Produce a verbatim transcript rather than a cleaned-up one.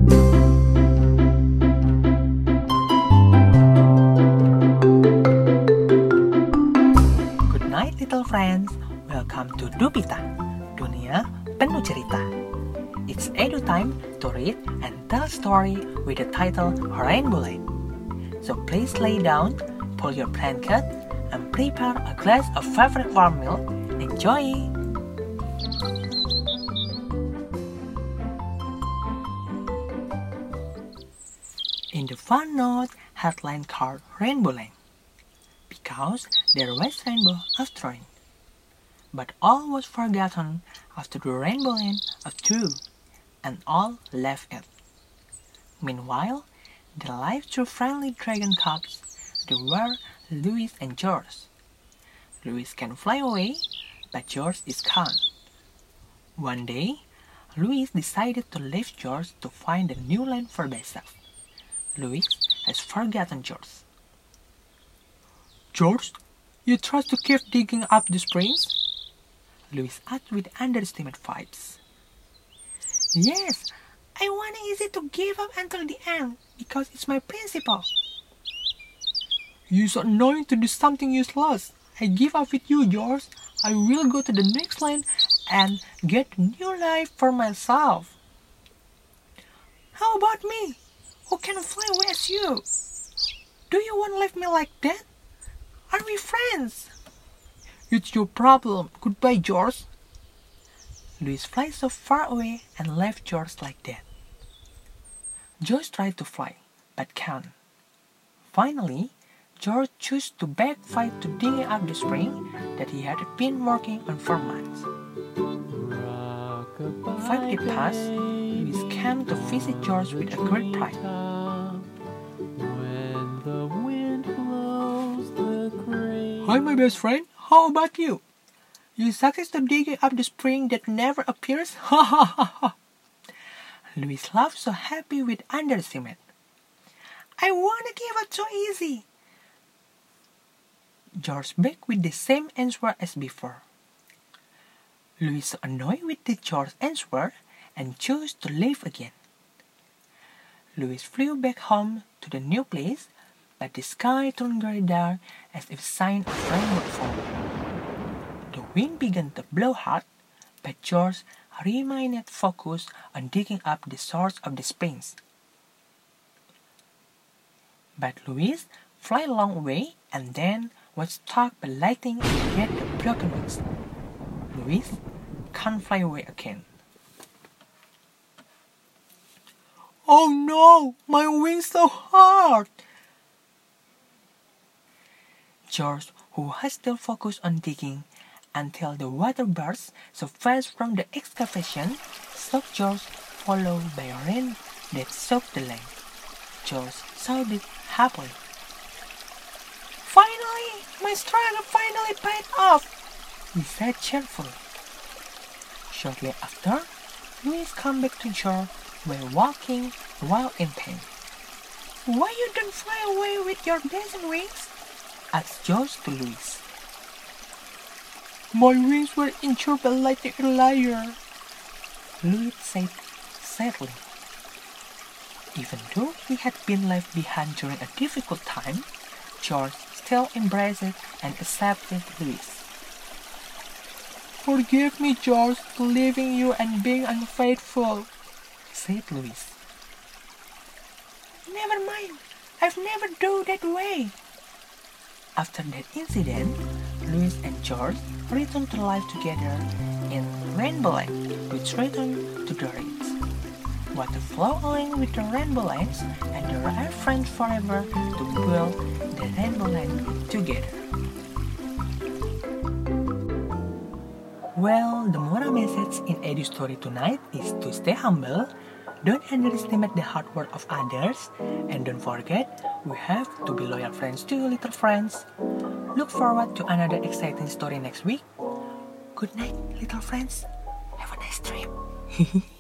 Good night, little friends. Welcome to Dupita, dunia penuh cerita. It's edu time to read and tell story with the title Rainbow Land. So please lay down, pull your blanket, and prepare a glass of favorite warm milk. Enjoy! In the fun note, headline called Rainbow Land, because there was rainbow after rain. But all was forgotten after the rainbow land of two, and all left it. Meanwhile, the life through friendly dragon cubs, they were Louis and George. Louis can fly away, but George is can't. One day, Louis decided to leave George to find a new land for themselves. Louis has forgotten George. George, you try to keep digging up the springs? Louis asked with underestimated vibes. Yes, I want it easy to give up until the end, because it's my principle. You're so annoying to do something useless. I give up with you, George. I will go to the next land and get a new life for myself. How about me, who can fly away as you? Do you want to leave me like that? Are we friends? It's your problem. Goodbye, George. Louis flies so far away and left George like that. George tried to fly, but can't. Finally, George chose to backfight to dig up the spring that he had been working on for months. Five days passed. Louis came to visit George with a great pride. Hi, my best friend. How about you? You succeeded digging up the spring that never appears? Ha ha ha ha! Louis laughed so happy with understatement. I wanna give up so easy. George begged with the same answer as before. Louis so annoyed with the George's answer and chose to leave again. Louis flew back home to the new place, but the sky turned very dark as if sign of rain would fall. The wind began to blow hard, but George remained focused on digging up the source of the springs. But Louis flew a long way and then was struck by lightning and get the broken wings. Louis can't fly away again. Oh no, my wings so hard! George, who was still focused on digging until the water burst so fast from the excavation, saw George followed by rain that soaked the land. George saw it happily. Finally, my struggle finally paid off, he said cheerfully. Shortly after, Louis came back to shore while walking while in pain. Why you don't fly away with your dancing wings? Asked George to Louis. My wings were injured by lightning earlier, Louis said sadly. Even though he had been left behind during a difficult time, George still embraced it and accepted Louis. Forgive me, George, for leaving you and being unfaithful, said Louis. Never mind, I've never done that way. After that incident, Louis and George returned to life together in Rainbow Land, which returned to the reeds. Water flow along with the rainbow lands, and they are friends forever to build the rainbow land together. Well, the moral message in Edu's story tonight is to stay humble, don't underestimate the hard work of others, and don't forget, we have to be loyal friends to you, little friends. Look forward to another exciting story next week. Good night, little friends. Have a nice dream.